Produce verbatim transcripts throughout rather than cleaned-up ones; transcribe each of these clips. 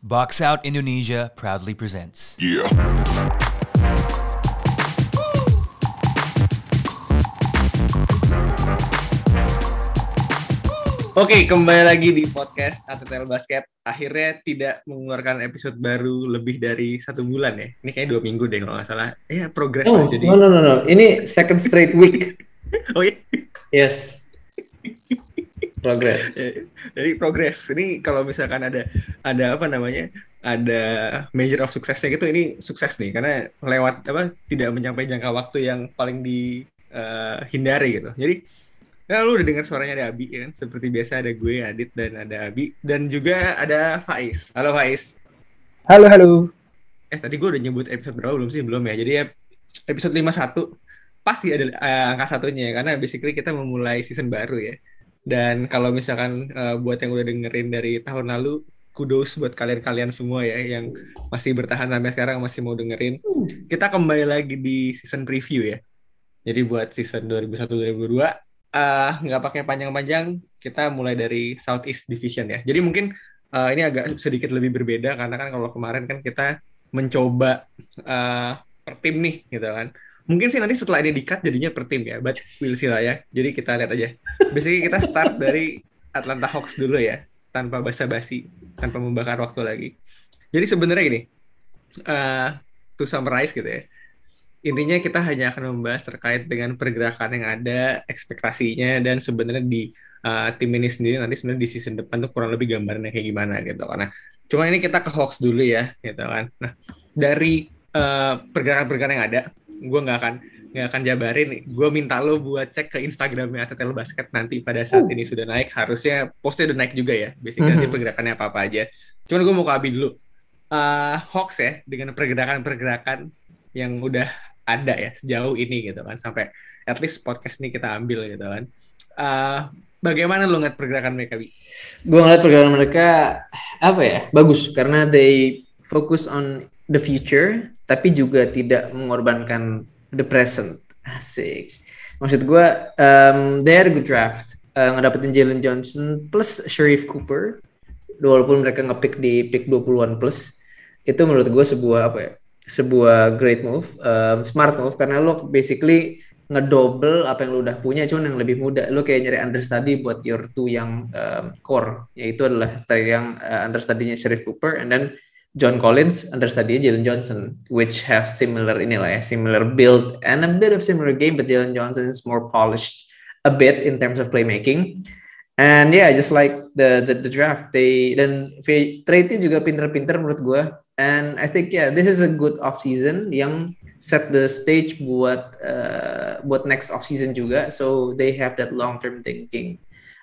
Box Out Indonesia proudly presents. Yeah. Oke, kembali lagi di podcast A T T L Basket. Akhirnya tidak mengeluarkan episode baru lebih dari satu bulan ya. Ini kayak dua minggu deh kalau nggak salah. Ya, progress Oh, lah jadi. no, no, no, no. Ini second straight week. Oh iya. Yes. Progress. Jadi progress. Ini kalau misalkan ada ada apa namanya? Ada measure of suksesnya gitu, ini sukses nih karena lewat apa? Tidak mencapai jangka waktu yang paling dihindari gitu. Jadi ya lu udah dengar suaranya ada Abi kan, seperti biasa ada gue, Adit, dan ada Abi, dan juga ada Faiz. Halo Faiz. Halo, halo. Eh tadi gue udah nyebut episode berapa belum sih? Belum ya. Jadi ya episode lima puluh satu pasti ada uh, angka satunya ya, karena basically kita memulai season baru ya. Dan kalau misalkan uh, buat yang udah dengerin dari tahun lalu, kudos buat kalian-kalian semua ya yang masih bertahan sampai sekarang, masih mau dengerin. Kita kembali lagi di season preview ya. Jadi buat season dua ribu satu dua ribu dua Uh, nggak pakai panjang-panjang, kita mulai dari Southeast Division ya. Jadi mungkin uh, ini agak sedikit lebih berbeda karena kan kalau kemarin kan kita mencoba uh, per tim nih gitu kan. Mungkin sih nanti setelah ini di-cut jadinya per tim ya, but we'll see lah ya. Jadi kita lihat aja. Basically kita start dari Atlanta Hawks dulu ya, tanpa basa-basi, tanpa membakar waktu lagi. Jadi sebenarnya gini, uh, to summarize gitu ya. Intinya kita hanya akan membahas terkait dengan pergerakan yang ada, ekspektasinya, dan sebenarnya di uh, tim ini sendiri nanti sebenarnya di season depan tuh kurang lebih gambarnya kayak gimana gitu. Karena cuma ini kita ke Hawks dulu ya, gitu kan. Nah dari uh, pergerakan-pergerakan yang ada, gue nggak akan nggak akan jabarin. Gue minta lo buat cek ke Instagramnya A T T L Basket nanti pada saat ini sudah naik. Harusnya postnya udah naik juga ya. Basically mm-hmm. nanti pergerakannya apa-apa aja. Cuman gue mau ke Abi dulu. Uh, Hawks ya dengan pergerakan-pergerakan yang udah ada ya sejauh ini gitu kan, sampai at least podcast ini kita ambil gitu kan. Uh, bagaimana lo ngeliat pergerakan mereka, Bi? Gue ngeliat pergerakan mereka apa ya, bagus karena they focus on the future tapi juga tidak mengorbankan the present. Asik. Maksud gue um, they had a good draft, uh, ngedapetin Jalen Johnson plus Sharife Cooper, walaupun mereka ngepick di pick dua puluhan plus. Itu menurut gue sebuah apa ya, sebuah great move, um, smart move, karena lo basically ngedouble apa yang lo udah punya, cuman yang lebih muda. Lo kayak nyari understudy buat your two yang um, core, yaitu adalah yang uh, understudy-nya Sharife Cooper, and then John Collins, understudy-nya Jalen Johnson, which have similar inilah ya, similar build and a bit of similar game, but Jalen Johnson is more polished a bit in terms of playmaking. And yeah, just like the the, the draft, they dan trade-nya juga pinter-pinter menurut gue. And I think yeah, this is a good off season yang set the stage buat uh, buat next off season juga. So they have that long term thinking.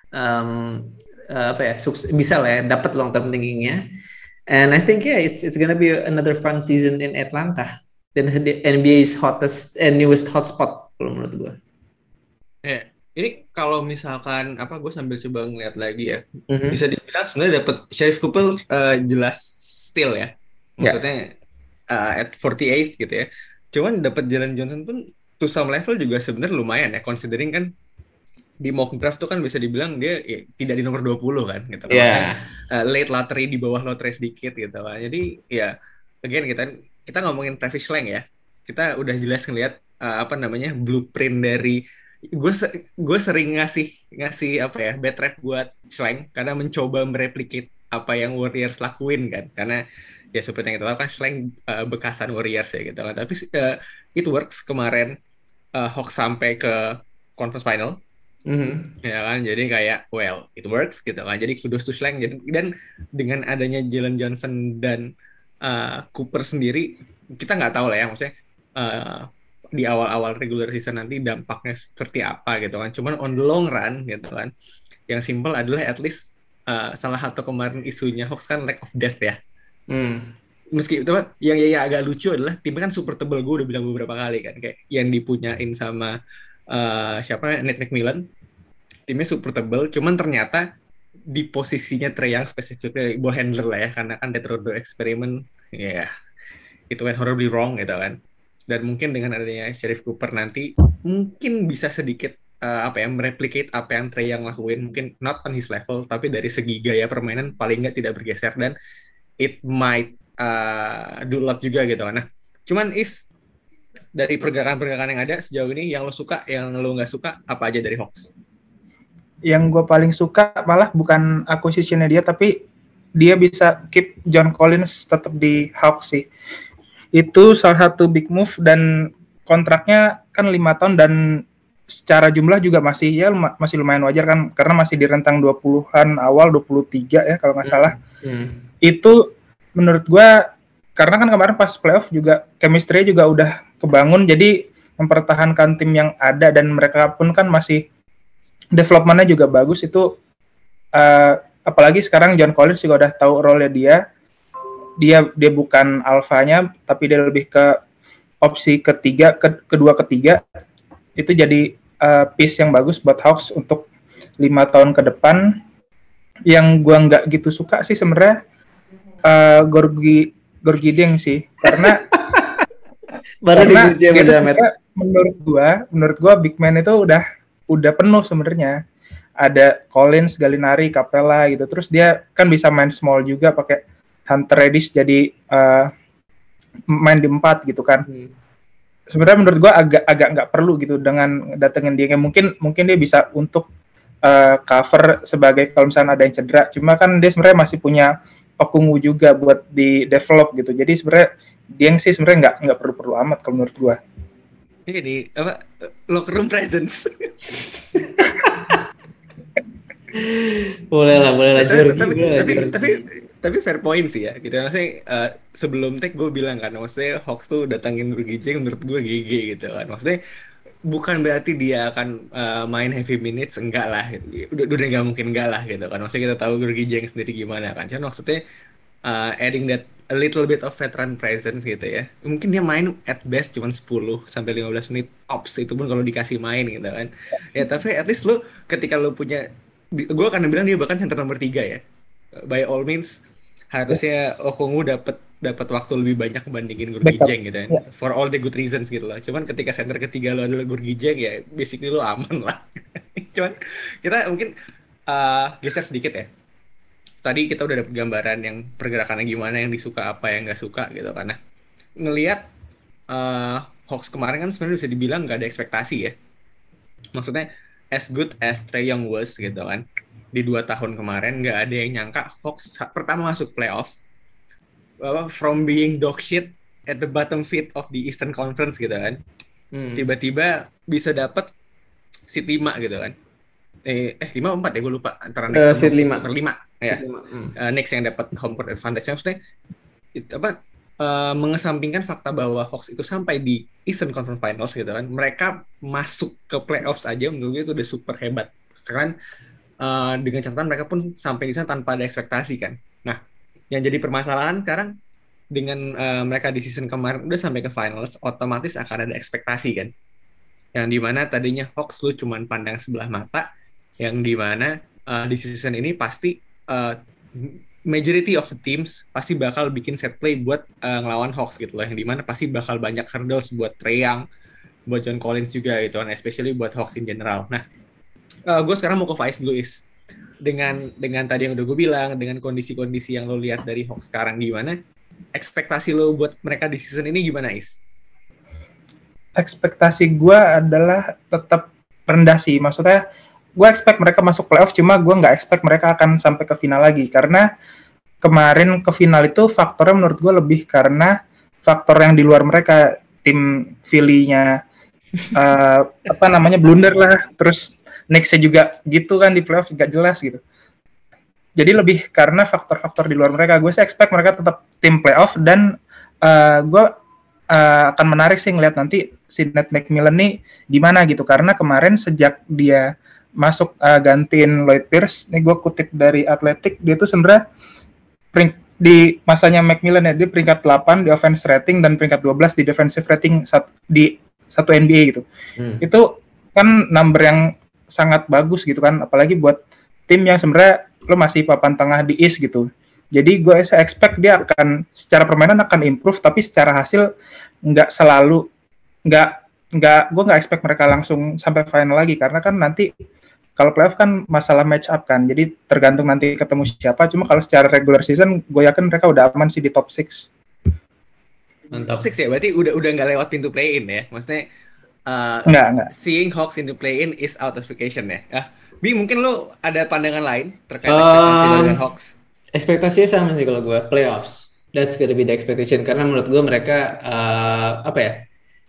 Um, uh, apa ya, sukses, bisa lah ya, dapat long term thinkingnya. And I think yeah, it's it's gonna be another fun season in Atlanta. Dan N B A's hottest and newest hotspot kalau menurut gue. Yeah. Ini kalau misalkan apa, gue sambil coba ngeliat lagi ya, mm-hmm. bisa dibilang sebenarnya dapat Sharife Cooper uh, jelas steal ya, maksudnya yeah. uh, at forty-eight gitu ya. Cuman dapat Jalen Johnson pun to some level juga sebenarnya lumayan ya, considering kan di mock draft tuh kan bisa dibilang dia ya, tidak di nomor dua puluh kan gitu. Yeah. Uh, late lottery, di bawah lottery sedikit gitu kan. Jadi ya again kita kita ngomongin Travis Schlenk ya, kita udah jelas ngelihat uh, apa namanya blueprint dari gue gue sering ngasih ngasih apa ya bad rap buat Schlenk karena mencoba mereplicate apa yang Warriors lakuin kan, karena ya seperti yang kita tahu kan Schlenk uh, bekasan Warriors ya gitu kan, tapi uh, it works kemarin uh, Hawks sampai ke conference final, mm-hmm. ya kan, jadi kayak well it works gitu kan, jadi kudos to Schlenk. Jadi dan dengan adanya Jalen Johnson dan uh, Cooper sendiri kita nggak tahu lah ya, maksudnya uh, di awal-awal regular season nanti dampaknya seperti apa gitu kan. Cuman on the long run gitu kan, yang simple adalah at least uh, salah satu kemarin isunya Hawks kan lack of depth ya. Hmm. Meski itu yang, yang agak lucu adalah timnya kan super tebel, gue udah bilang beberapa kali kan, kayak yang dipunyain sama uh, siapa Nate McMillan, timnya super tebel. Cuman ternyata di posisinya Trae Young spesifiknya ball handler lah ya, karena kan Death Row eksperimen ya yeah, itu went horribly wrong gitu kan. Dan mungkin dengan adanya Sharife Cooper nanti mungkin bisa sedikit uh, apa ya mereplicate apa yang Trae Young lakuin, mungkin not on his level tapi dari segi gaya permainan paling nggak tidak bergeser. Dan it might uh, do a lot juga gitu kan. Nah, cuman is dari pergerakan-pergerakan yang ada sejauh ini yang lo suka, yang lo nggak suka apa aja dari Hawks? Yang gue paling suka malah bukan acquisition-nya dia, tapi dia bisa keep John Collins tetap di Hawks sih. Itu salah satu big move, dan kontraknya kan lima tahun dan secara jumlah juga masih ya masih lumayan wajar kan, karena masih di rentang dua puluhan awal, dua puluh tiga ya kalau nggak salah. Hmm. Itu menurut gue, karena kan kemarin pas playoff juga chemistry juga udah kebangun, jadi mempertahankan tim yang ada dan mereka pun kan masih development-nya juga bagus itu. Uh, apalagi sekarang John Collins juga udah tahu role-nya dia. Dia dia bukan alfanya, tapi dia lebih ke opsi ketiga, ke, kedua ketiga. Itu jadi uh, piece yang bagus buat Hawks untuk lima tahun ke depan. Yang gua nggak gitu suka sih sebenarnya uh, Gorgi Gorgi Dieng sih, karena baru karena dia menurut gua menurut gua big man itu udah udah penuh sebenarnya. Ada Collins, Gallinari, Capella gitu. Terus dia kan bisa main small juga pakai Hunter Reddish jadi uh, main di empat gitu kan. Hmm. Sebenarnya menurut gue agak agak nggak perlu gitu dengan datengin dia. Mungkin mungkin dia bisa untuk uh, cover sebagai kalau misalnya ada yang cedera. Cuma kan dia sebenarnya masih punya Okungwu juga buat di develop gitu. Jadi sebenarnya dia sih sebenarnya nggak nggak perlu-perlu amat kalau menurut gue. Ini jadi apa locker room presence. boleh lah, boleh lah. Tapi, tapi, tapi, tapi, tapi fair point sih ya. Gitu maksudnya uh, sebelum take gue bilang kan, maksudnya Hawks tuh datangin Gorgi Dieng menurut gue G G gitu kan. Maksudnya bukan berarti dia akan uh, main heavy minutes, enggak lah. Gitu. Udah udah nggak mungkin enggak lah gitu kan. Maksudnya kita tahu Gorgi Dieng sendiri gimana kan. Cuman maksudnya uh, adding that a little bit of veteran presence gitu ya. Mungkin dia main at best cuma sepuluh sampai lima belas menit tops, itu pun kalau dikasih main gitu kan. Ya tapi at least lu ketika lu punya, gue akan bilang dia bahkan center nomor tiga ya. By all means harusnya Okungwu dapat dapat waktu lebih banyak bandingin Gorgi Dieng gitu ya. Yeah. For all the good reasons gitu lah. Cuman ketika center ketiga lo adalah Gorgi Dieng ya basically lo aman lah. Cuman kita mungkin uh, geser sedikit ya. Tadi kita udah dapet gambaran yang pergerakannya gimana, yang disuka apa, yang nggak suka gitu. Karena ngelihat uh, Hawks kemarin kan sebenarnya bisa dibilang nggak ada ekspektasi ya. Maksudnya as good as Trae Young was gitu kan, di dua tahun kemarin nggak ada yang nyangka Hawks pertama masuk playoff uh, from being dog shit at the bottom feed of the Eastern Conference gitu kan, hmm. tiba-tiba bisa dapat seed lima gitu kan, eh eh lima empat ya gue lupa antara next uh, seed lima lima ya hmm. uh, next yang dapat home court advantage. Maksudnya itu apa, uh, mengesampingkan fakta bahwa Hawks itu sampai di Eastern Conference Finals gitu kan, mereka masuk ke playoffs aja menurut gue itu udah super hebat kan. Uh, dengan catatan mereka pun sampai di sana tanpa ada ekspektasi kan. Nah, yang jadi permasalahan sekarang dengan uh, mereka di season kemarin udah sampai ke finals, otomatis akan ada ekspektasi kan. Yang dimana tadinya Hawks lu cuman pandang sebelah mata, yang dimana uh, di season ini pasti uh, majority of the teams pasti bakal bikin set play buat uh, ngelawan Hawks gitu loh. Yang dimana pasti bakal banyak hurdles buat Trae Young, buat John Collins juga gitu kan, especially buat Hawks in general. Nah, Uh, gue sekarang mau ke Faiz dulu Is. Dengan dengan tadi yang udah gue bilang, dengan kondisi-kondisi yang lo lihat dari Hawks sekarang gimana? Ekspektasi lo buat mereka di season ini gimana Is? Ekspektasi gue adalah tetap rendah sih. Maksudnya gue expect mereka masuk playoff, cuma gue nggak expect mereka akan sampai ke final lagi. Karena kemarin ke final itu faktornya menurut gue lebih karena faktor yang di luar mereka. Tim Philly-nya uh, apa namanya blunder lah, terus Knicks-nya juga gitu kan di playoff nggak jelas gitu. Jadi lebih karena faktor-faktor di luar mereka. Gue sih expect mereka tetap tim playoff, dan uh, gue uh, akan menarik sih ngeliat nanti si Nate McMillan nih gimana gitu. Karena kemarin sejak dia masuk uh, gantiin Lloyd Pierce, nih gue kutip dari Athletic, dia tuh sebenarnya di masanya McMillan ya, dia peringkat delapan di offense rating dan peringkat dua belas di defensive rating di satu N B A gitu. Hmm. Itu kan number yang sangat bagus gitu kan, apalagi buat tim yang sebenarnya lo masih papan tengah di East gitu. Jadi gue saya expect dia akan secara permainan akan improve, tapi secara hasil nggak selalu nggak nggak gue nggak expect mereka langsung sampai final lagi, karena kan nanti kalau playoff kan masalah match up kan, jadi tergantung nanti ketemu siapa. Cuma kalau secara regular season, gue yakin mereka udah aman sih di top enam. Top enam ya, berarti udah udah nggak lewat pintu play-in ya? Maksudnya uh, Enggak, enggak. seeing Hawks in the play-in is out of the question ya? Ah, Bi, mungkin lo ada pandangan lain terkait Um, ekspektasi lo dengan Hawks? Ekspektasinya sama sih kalau gue, playoffs. That's gonna be the expectation, karena menurut gue mereka uh, apa ya?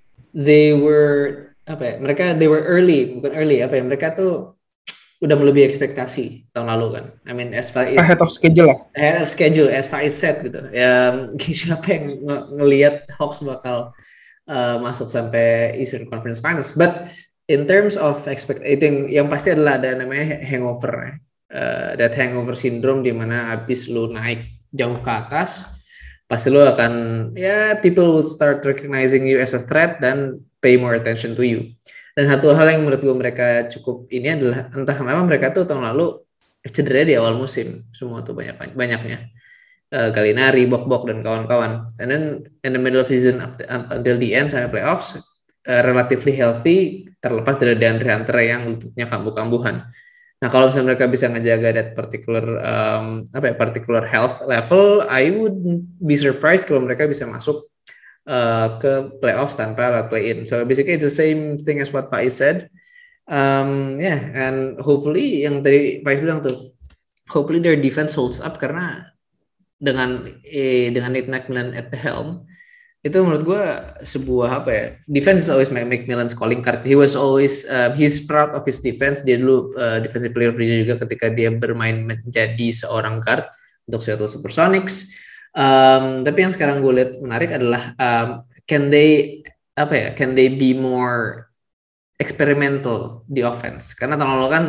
They were apa ya? Mereka they were early, bukan early apa ya? Mereka tuh udah melebihi ekspektasi tahun lalu kan. I mean as far as Ahead of schedule lah. ahead of schedule, as far as set gitu. Ya siapa yang ng- ngelihat Hawks bakal uh, masuk sampai Eastern Conference Finals? But in terms of expecting, yang pasti adalah ada namanya hangover, ya. Uh, that hangover syndrome, di mana abis lu naik jauh ke atas, pasti lu akan ya people would start recognizing you as a threat dan pay more attention to you. Dan satu hal yang menurut gue mereka cukup ini adalah entah kenapa mereka tuh tahun lalu cedera di awal musim semua tuh banyak banyaknya uh, Gallinari, Bok-Bok dan kawan-kawan. And then in the middle of season up, to, up until the end sampai playoffs uh, relatively healthy, terlepas dari DeAndre Hunter yang lututnya kambuh-kambuhan. Nah kalau misalnya mereka bisa ngejaga that particular um, apa ya particular health level, I would be surprised kalau mereka bisa masuk Uh, ke playoffs tanpa lewat play-in. So basically it's the same thing as what Faiz said. Um, yeah, and hopefully yang tadi Faiz bilang tuh, hopefully their defense holds up, karena dengan eh, dengan Nate McMillan at the helm, itu menurut gue sebuah apa ya, defense is always McMillan's calling card. He was always uh, he's proud of his defense. Dia dulu uh, defensive player of the year juga ketika dia bermain menjadi seorang guard untuk Seattle Supersonics. Um, tapi yang sekarang gue lihat menarik adalah um, can they apa ya can they be more experimental di offense, karena tahun lalu kan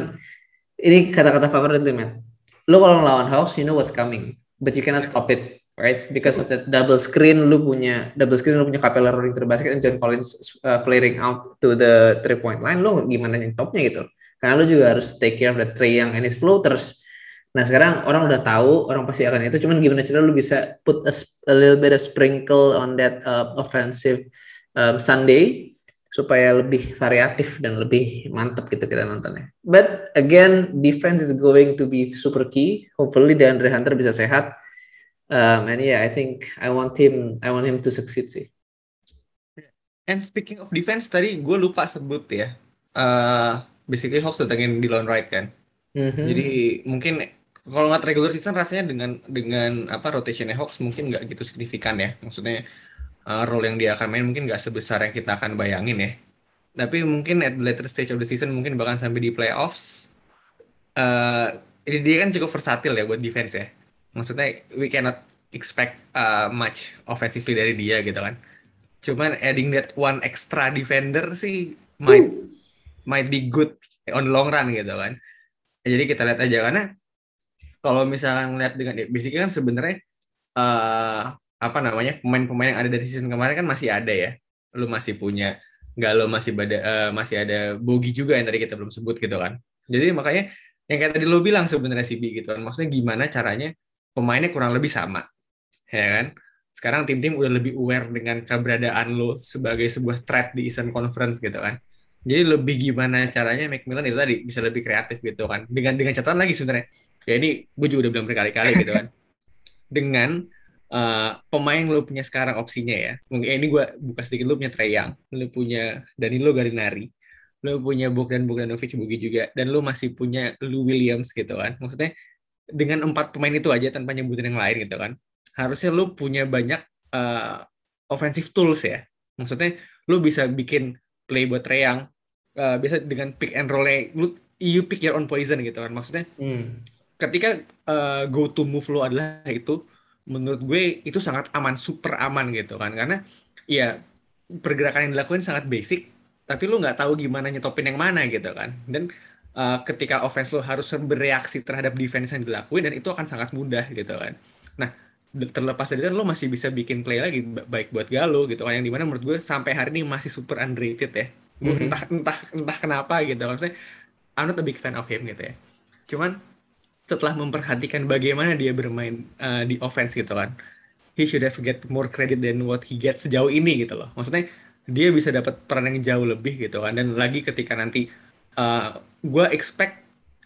ini kata-kata favorit lu, Matt. Lu kalau ngelawan Hawks you know what's coming but you cannot stop it, right? Because of that double screen, lu punya double screen, lu punya Capella rolling to the basket and John Collins uh, flaring out to the three point line. Lu gimana yang topnya gitu, karena lu juga harus take care of the Trae Young and his floaters. Nah sekarang orang udah tahu, orang pasti akan itu. Cuman gimana cara lu bisa put a, a little bit of sprinkle on that uh, offensive um, Sunday supaya lebih variatif dan lebih mantap gitu kita nontonnya. But again, defense is going to be super key. Hopefully DeAndre Hunter bisa sehat. Um, and yeah, I think I want him, I want him to succeed sih. And speaking of defense, tadi gue lupa sebut ya. Uh, basically Hawks datangin Delon Wright kan. Mm-hmm. Jadi mungkin kalau nggak regular season rasanya dengan dengan apa rotationnya Hawks mungkin nggak gitu signifikan ya. Maksudnya uh, role yang dia akan main mungkin nggak sebesar yang kita akan bayangin ya. Tapi mungkin at the later stage of the season mungkin bahkan sampai di playoffs. Uh, ini dia kan cukup versatil ya buat defense ya. Maksudnya we cannot expect uh, much offensively dari dia gitu kan. Cuman adding that one extra defender sih might uh. might be good on the long run gitu kan. Jadi kita lihat aja, karena kalau misalnya ngeliat dengan basically kan sebenarnya uh, apa namanya pemain-pemain yang ada dari season kemarin kan masih ada ya. Lu masih punya Galo, masih ada uh, masih ada Bogi juga yang tadi kita belum sebut gitu kan. Jadi makanya yang kayak tadi lu bilang sebenarnya sih Bi gitu kan. Maksudnya gimana caranya pemainnya kurang lebih sama. Ya kan? Sekarang tim-tim udah lebih aware dengan keberadaan lu sebagai sebuah threat di Eastern Conference gitu kan. Jadi lebih gimana caranya McMillan itu tadi bisa lebih kreatif gitu kan. Dengan dengan catatan lagi sebenarnya. Ya ini gue juga udah bilang berkali-kali gitu kan. Dengan uh, pemain yang lu punya sekarang opsinya ya. Mungkin ini gue buka sedikit, lu punya Trae Young, lu punya Danilo Gallinari, lu punya Bogdan Bogdanovic Bogi juga, dan lu masih punya Lou Williams gitu kan. Maksudnya dengan empat pemain itu aja tanpa nyebutin yang lain gitu kan. Harusnya lu punya banyak uh, offensive tools ya. Maksudnya lu bisa bikin play buat Trae Young, uh, biasa dengan pick and roll, lu you pick your own poison gitu kan. Maksudnya hmm. ketika uh, go to move lo adalah itu, menurut gue itu sangat aman, super aman gitu kan, karena ya pergerakan yang dilakukan sangat basic, tapi lo nggak tahu gimana nyetopin yang mana gitu kan. Dan uh, ketika offense lo harus bereaksi terhadap defense yang dilakuin, dan itu akan sangat mudah gitu kan. Nah terlepas dari itu lo masih bisa bikin play lagi baik buat Galo gitu kan, yang dimana menurut gue sampai hari ini masih super underrated ya. Mm-hmm. entah entah entah kenapa gitu kan. Maksudnya I'm not a big fan of him gitu ya. Cuman setelah memperhatikan bagaimana dia bermain uh, di offense gitu kan, he should have get more credit than what he gets sejauh ini gitu loh. Maksudnya dia bisa dapat peran yang jauh lebih gitu kan. Dan lagi ketika nanti uh, gue expect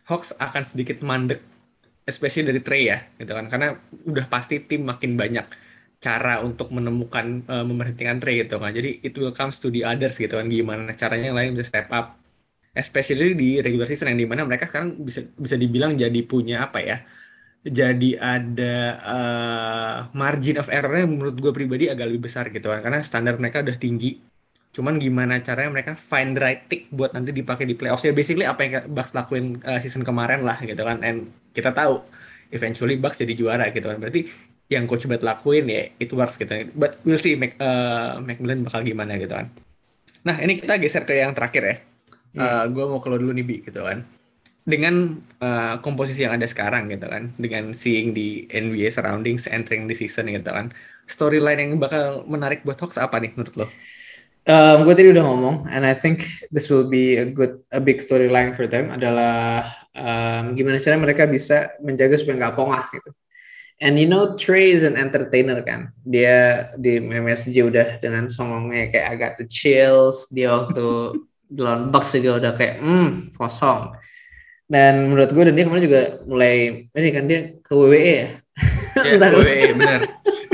Hawks akan sedikit mandek, especially dari Trey ya, gitu kan. Karena udah pasti tim makin banyak cara untuk menemukan uh, memberhentikan Trey gitu kan. Jadi it will comes to the others gitu kan, gimana caranya yang lain bisa step up. Especially di regular season yang dimana mereka sekarang bisa bisa dibilang jadi punya apa ya? Jadi ada uh, margin of error-nya menurut gue pribadi agak lebih besar gitu kan. Karena standar mereka udah tinggi. Cuman gimana caranya mereka find the right tick buat nanti dipakai di playoffs. Ya basically apa yang Bucks lakuin uh, season kemarin lah gitu kan. And kita tahu eventually Bucks jadi juara gitu kan. Berarti yang coach Bud lakuin ya it works gitu. But we'll see Mac, uh, McMillan bakal gimana gitu kan. Nah ini kita geser ke yang terakhir ya. Uh, gue mau keluar dulu nih Bi gitu kan. Dengan uh, komposisi yang ada sekarang gitu kan. Dengan seeing di N B A surroundings entering the season gitu kan. Storyline yang bakal menarik buat Hawks apa nih menurut lo? Um, gue tadi udah ngomong, and I think this will be a good, a big storyline for them adalah um, gimana cara mereka bisa menjaga supaya nggak pongah gitu. And you know, Trey is an entertainer kan. Dia di M S G udah dengan songongnya kayak agak the chills. Dia waktu lawan Bucks juga udah kayak hmm kosong. Dan menurut gue dan dia kemarin juga mulai, ini kan dia ke W W E ya. Ya, W W E bener.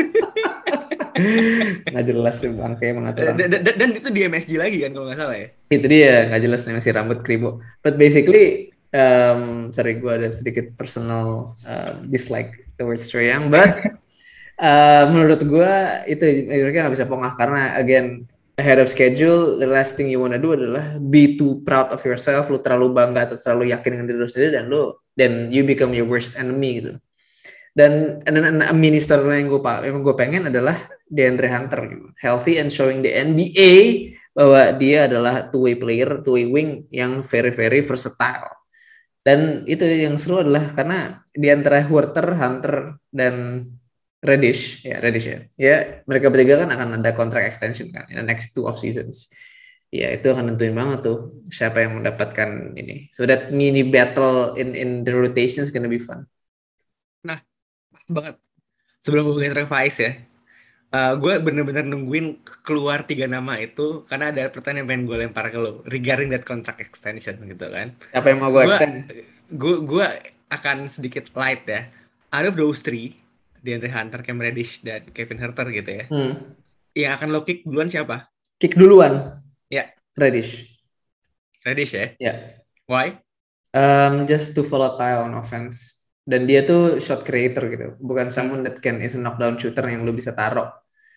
Nggak jelas sih bang kayak mengatur dan, dan, dan itu di M S G lagi kan kalau nggak salah ya itu dia nggak jelas masih rambut kribo but basically um, sorry gue ada sedikit personal uh, dislike towards Trae Young but uh, menurut gue itu mereka nggak bisa pongah karena again ahead of schedule the last thing you wanna do adalah be too proud of yourself, lu terlalu bangga atau terlalu yakin dengan diri lu sendiri dan lu then you become your worst enemy gitu. Dan dan a mini story yang gue yang gue pengen adalah DeAndre Hunter gitu. Healthy and showing the N B A bahwa dia adalah two way player, two way wing yang very very versatile. Dan itu yang seru adalah karena di antara Huerter, Hunter dan Reddish, ya Reddish ya. Ya, mereka bertiga kan akan ada contract extension kan in the next two off seasons. Ya, itu akan nentuin banget tuh siapa yang mendapatkan ini. So that mini battle in in the rotation is gonna be fun. Nah, banget sebelum hubungin Travis ya uh, gue bener-bener nungguin keluar tiga nama itu karena ada pertanyaan yang pengen gue lempar ke lo regarding that contract extension gitu kan. Apa yang mau gue extend? Gue gue akan sedikit light ya. Out of those three, DeAndre Hunter, Cam Reddish dan Kevin Huerter gitu ya. Hmm. Yang akan lo kick duluan siapa? Kick duluan? Ya. Reddish. Reddish ya? Ya. Why? Um, just too volatile on offense. Dan dia tuh shot creator gitu, bukan someone that can is a knockdown shooter yang lu bisa taruh.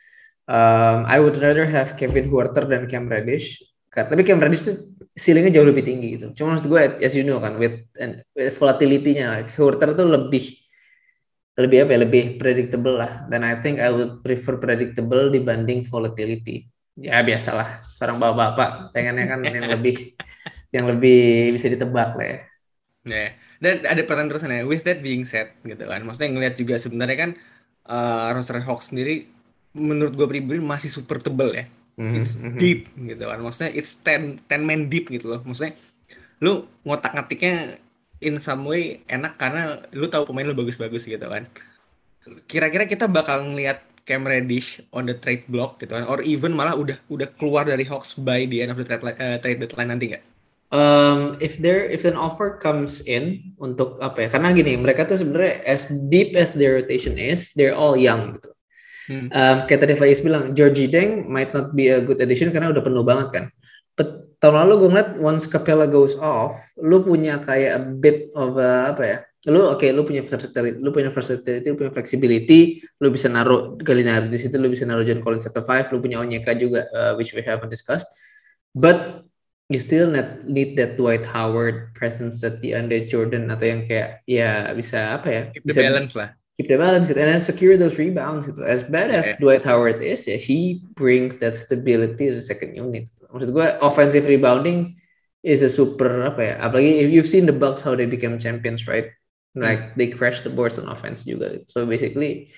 Um, I would rather have Kevin Huerter dan Cam Reddish. Tapi Cam Reddish tuh ceilingnya jauh lebih tinggi gitu. Cuma maksud gue, as you know kan, with, with volatility-nya, like, Huerter tuh lebih lebih apa ya, lebih predictable lah. Dan I think I would prefer predictable dibanding volatility. Ya biasalah, seorang bapak-bapak pengennya kan yang lebih yang lebih bisa ditebak lah ya. Yeah. Dan ada pertanyaan terusan ya, with that being said gitu kan, maksudnya ngeliat juga sebenarnya kan uh, roster Hawks sendiri menurut gue pribadi masih super tebel ya, mm-hmm. It's deep gitu kan, maksudnya it's ten, ten man deep gitu loh, maksudnya lu ngotak-ngatiknya in some way enak karena lu tahu pemain lu bagus-bagus gitu kan. Kira-kira kita bakal ngeliat Cam Reddish on the trade block gitu kan, or even malah udah udah keluar dari Hawks by the end of the trade, uh, trade deadline nanti nggak? Um, if there if an offer comes in untuk apa ya, karena gini mereka tuh sebenarnya as deep as their rotation is, they're all young gitu. Hmm. Um, kayak tadi Faiz bilang, Georgie Deng might not be a good addition karena udah penuh banget kan. But tahun lalu gue ngeliat once Capella goes off, lu punya kayak a bit of a, apa ya, lu oke okay, lu punya versatility, lu punya versatility, lu punya flexibility, lu bisa naruh Gallinari di situ, lu bisa naruh John Collins at the five, lu punya Onyeka juga, uh, which we haven't discussed, but you still not need that Dwight Howard presence at the under Jordan atau yang kayak ya bisa apa ya, keep bisa the balance lah, keep the balance gitu, and secure those rebounds gitu. As bad as yeah. Dwight Howard is ya, he brings that stability to the second unit. Maksud gue offensive rebounding is a super apa ya, apalagi if you've seen the Bucks how they became champions, right? Like hmm. they crash the boards on offense juga. So basically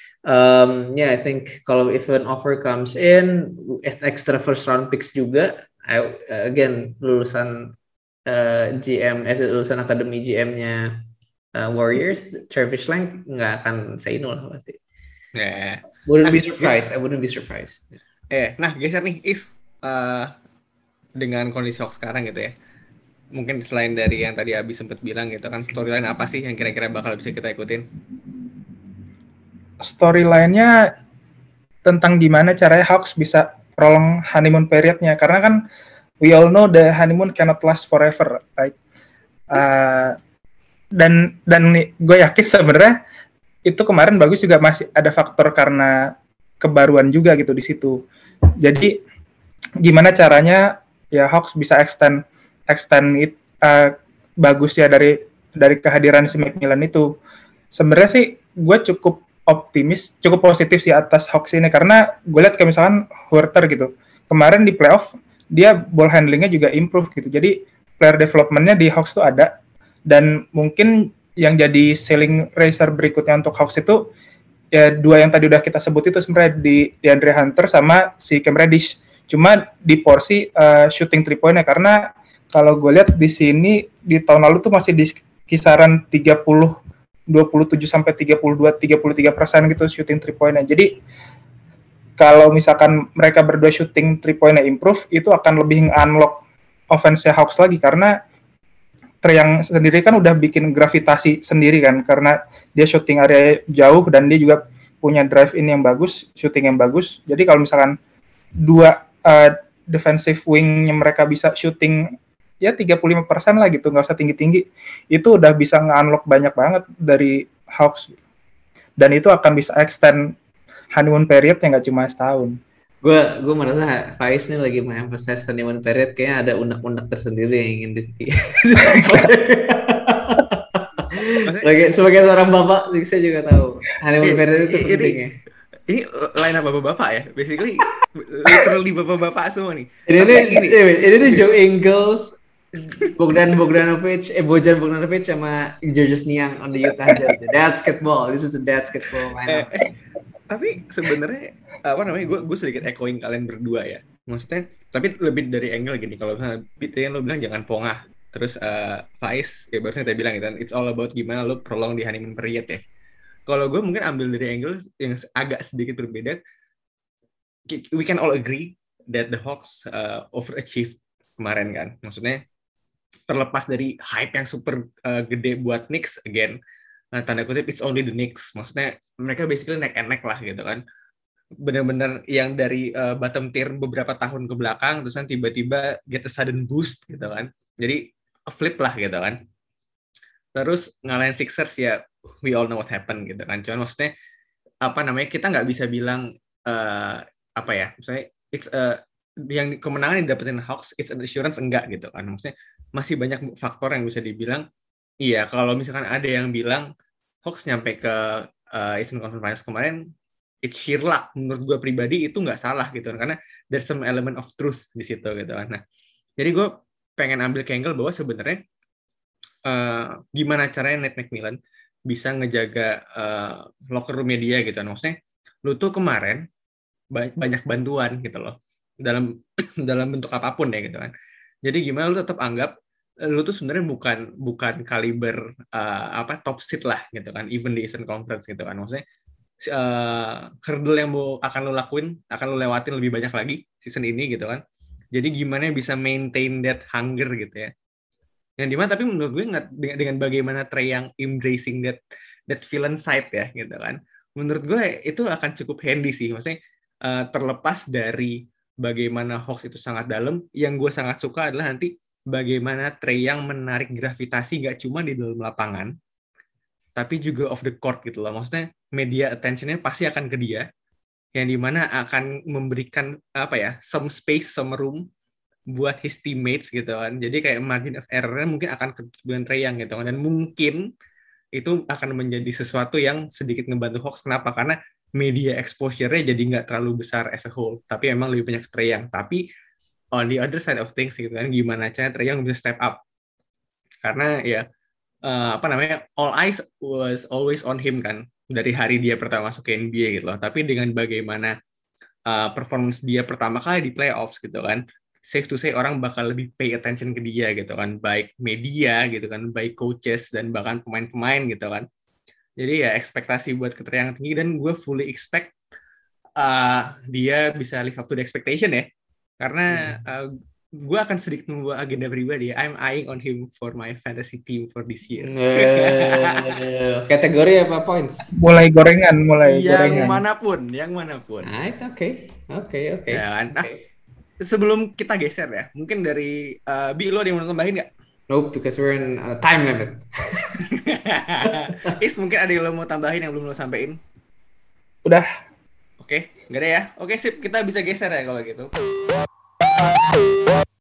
um, yeah I think kalau if an offer comes in extra first round picks juga, I, uh, again lulusan uh, G M, eh, lulusan akademi G M-nya uh, Warriors, Travis Lang nggak akan say no lah pasti. Yeah. Wouldn't be surprised. I wouldn't be surprised. Eh, nah geser nih Is uh, dengan kondisi Hawks sekarang gitu ya. mungkin selain dari yang tadi Abi sempat bilang gitu kan, storyline apa sih yang kira-kira bakal bisa kita ikutin? Storyline-nya tentang gimana caranya Hawks bisa prolong honeymoon period-nya, karena kan we all know the honeymoon cannot last forever, right? Uh, dan dan gue yakin sebenarnya itu kemarin bagus juga masih ada faktor karena kebaruan juga gitu di situ. Jadi gimana caranya ya Hawks bisa extend extend it uh, bagus ya dari dari kehadiran si Macmillan itu. Sebenarnya sih gue cukup optimis, cukup positif sih atas Hawks ini, karena gue lihat kayak misalkan Huerter gitu. Kemarin di playoff dia ball handlingnya juga improve gitu. Jadi player development-nya di Hawks tuh ada, dan mungkin yang jadi selling racer berikutnya untuk Hawks itu ya dua yang tadi udah kita sebut itu sebenarnya di DeAndre Hunter sama si Cam Reddish. Cuma di porsi uh, shooting three point-nya, karena kalau gue lihat di sini di tahun lalu tuh masih di kisaran tiga puluh dua puluh tujuh sampai tiga puluh dua tiga puluh tiga persen gitu shooting three point-nya. Jadi kalau misalkan mereka berdua shooting three point-nya improve, itu akan lebih nge-unlock offense Hawks lagi, karena Trae yang sendiri kan udah bikin gravitasi sendiri kan, karena dia shooting area jauh dan dia juga punya drive in yang bagus, shooting yang bagus. Jadi kalau misalkan dua uh, defensive wing-nya mereka bisa shooting ya tiga puluh lima persen lah gitu, nggak usah tinggi-tinggi, itu udah bisa nge-unlock banyak banget dari Hawks. Dan itu akan bisa extend honeymoon period yang nggak cuma setahun. Gue gue merasa Faiz nih lagi mengemphasize honeymoon period, kayaknya ada unek-unek tersendiri yang ingin di sebagai sebagai seorang bapak, saya juga tahu honeymoon period itu penting ya. Ini line up bapak-bapak ya, basically literally bapak-bapak semua nih. Ini ini ini tuh Joe Ingles, Bogdan Bogdanovic, eh Bojan Bogdanovic sama Georges Niang on the Utah Jazz. That's basketball. This is the basketball lineup. Eh, eh, tapi sebenarnya apa namanya, gue gue sedikit echoing kalian berdua ya. Maksudnya, tapi lebih dari angle gini. Kalau misalnya Pete lo bilang jangan pongah, terus uh, Faiz ya barusan kita bilang gitu, it's all about gimana lo prolong di honeymoon period ya. Kalau gue mungkin ambil dari angle yang agak sedikit berbeda. We can all agree that the Hawks uh, overachieved kemarin kan. Maksudnya terlepas dari hype yang super uh, gede buat Knicks, again, uh, tanda kutip it's only the Knicks. Maksudnya mereka basically neck and neck lah gitu kan. Benar-benar yang dari uh, bottom tier beberapa tahun ke belakang, terus kan tiba-tiba get a sudden boost gitu kan. Jadi flip lah gitu kan. Terus ngalahin Sixers ya, we all know what happened gitu kan. Cuman maksudnya apa namanya, kita nggak bisa bilang uh, apa ya, misalnya it's a, yang kemenangan yang dapetin Hawks it's an assurance, enggak gitu kan. Maksudnya masih banyak faktor yang bisa dibilang. Iya, kalau misalkan ada yang bilang Hawks nyampe ke uh, Eastern Conference Finals kemarin it's sheer luck, menurut gue pribadi itu nggak salah gitu kan, karena there's some element of truth di situ gitu kan. Nah, jadi gue pengen ambil ke angle bahwa sebenarnya Uh, gimana caranya Nate McMillan bisa ngejaga uh, locker room-nya dia gitu. Maksudnya lu tuh kemarin banyak bantuan gitu loh dalam dalam bentuk apapun ya gitu kan. Jadi gimana lu tetap anggap lu tuh sebenarnya bukan bukan kaliber uh, apa top seed lah gitu kan, even di Eastern Conference gitu kan. Maksudnya uh, hurdle yang mau akan lu lakuin, akan lu lewatin lebih banyak lagi season ini gitu kan. Jadi gimana bisa maintain that hunger gitu ya. Yang dimana tapi menurut gue nggak, dengan, dengan bagaimana Trae yang embracing that that villain side ya gitu kan, menurut gue itu akan cukup handy sih. Maksudnya uh, terlepas dari bagaimana Hawks itu sangat dalam, yang gue sangat suka adalah nanti bagaimana Trae yang menarik gravitasi nggak cuma di dalam lapangan tapi juga off the court gitu loh. Maksudnya media attention-nya pasti akan ke dia, yang dimana akan memberikan apa ya, some space, some room buat his teammates gitu kan. Jadi kayak margin of error-nya mungkin akan kebutuhan Trae Young gitu kan. Dan mungkin itu akan menjadi sesuatu yang sedikit ngebantu Hawks. Kenapa? Karena media exposure-nya jadi nggak terlalu besar as a whole. Tapi emang lebih banyak Trae Young. Tapi on the other side of things gitu kan, gimana caranya Trae Young bisa step up. Karena ya uh, apa namanya, all eyes was always on him kan. Dari hari dia pertama masuk ke N B A gitu loh. Tapi dengan bagaimana uh, performance dia pertama kali di playoffs gitu kan, safe to say orang bakal lebih pay attention ke dia gitu kan, baik media gitu kan, baik coaches dan bahkan pemain-pemain gitu kan. Jadi ya ekspektasi buat Trae yang tinggi, dan gue fully expect uh, dia bisa live up to the expectation ya, karena uh, gue akan sedikit membawa agenda pribadi ya. I'm eyeing on him for my fantasy team for this year. Eh, kategori apa points? Mulai gorengan, mulai yang gorengan. manapun, yang manapun. Right, oke, oke, oke. Ya kan? Nah, Oke. sebelum kita geser ya, mungkin dari uh, Bi, lo ada yang mau tambahin nggak? Nope, because we're in a time limit. Is, mungkin ada yang lo mau tambahin yang belum lo sampein? Udah. Oke, nggak ada ya? Oke, sip. Kita bisa geser ya kalau gitu.